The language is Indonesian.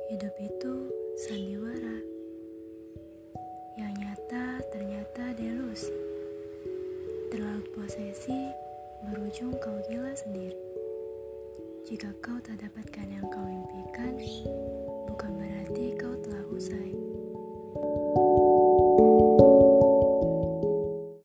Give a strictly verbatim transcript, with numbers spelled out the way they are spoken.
Hidup itu sandiwara, yang nyata ternyata delusi. Terlalu posesi berujung kau gila sendiri. Jika kau tak dapatkan yang kau impikan,